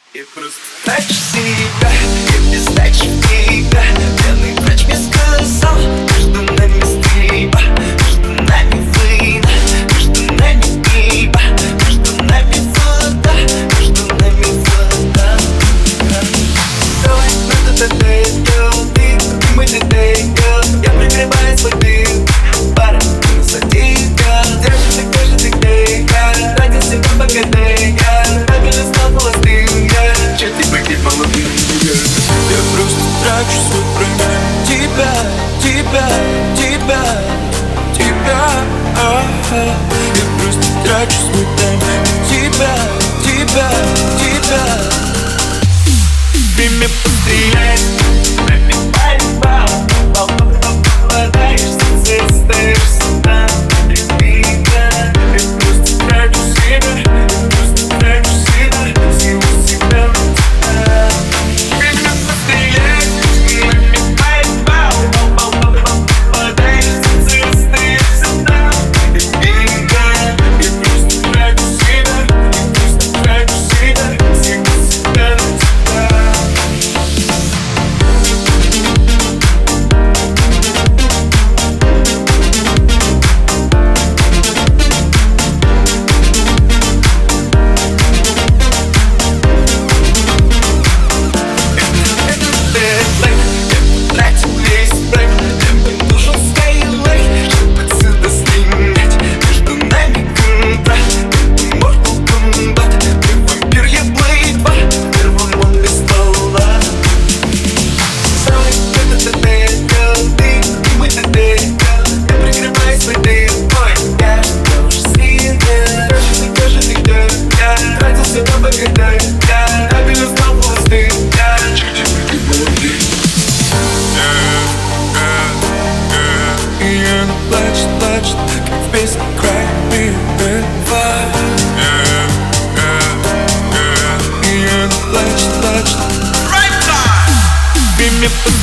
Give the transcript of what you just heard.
Я просто трачу себя, я без дачи в тебя. Пьяный врач мне сказал, между нами стрельба, между нами война, между нами пиво, между нами вода, между нами вода. Давай, ты мой детектор. Я прикрываю свой дым, пара, ты на садика. Держи ты где я, ради себя погадай я. Правильно стал холостым я, че ты погиб молодым я. Я просто трачу свой время. Тебя, тебя, тебя, тебя. Я просто трачу свой тайм. Тебя, тебя, тебя. Время пострелять, время борьба. Попадаешься, остаешься там. Любимая, я просто трачу себя, я просто трачу себя, силу себя на тебя. Время пострелять, время борьба. Попадаешься, остаешься там. Любимая, я просто трачу себя, я просто трачу себя, силу себя на тебя. Время